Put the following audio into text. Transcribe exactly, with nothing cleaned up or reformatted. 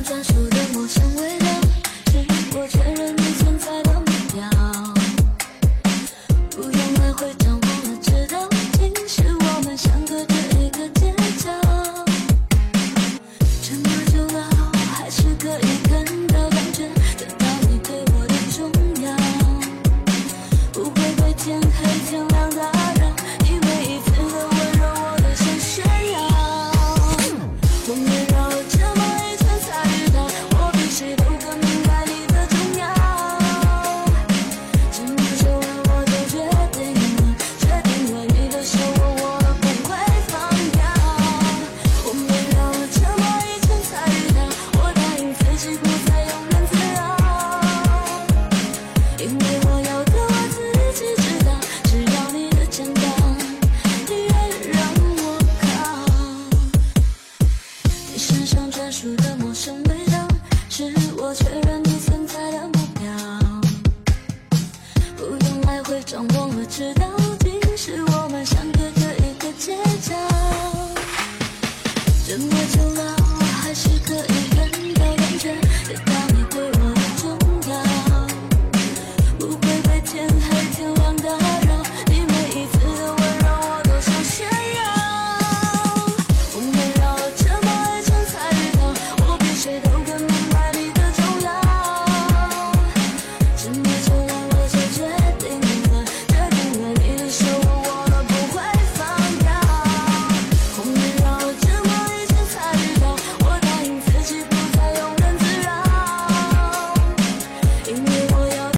专属的陌生味道，是我确认你存在的目标。不用来回张望了，知道竟是我们相隔着一个街角。沉默久了，还是可以看到感觉得到你对我的重要。不会被天黑天亮打扰，因为一次的温柔我都想炫耀。我们绕了这么一圈才遇到，我比谁都更明白你的重要。沉默久了我就决定了，决定了你的手握我不会放掉。我们绕了这么一圈才遇到，我答应自己不再庸人自扰，因为我要的我自己知道，只要你的肩膀依然让我靠。你身上专属的陌生味道，是我确认你存在的目标。不用来回张望了，知道竟是我们相隔着一个街角。这么久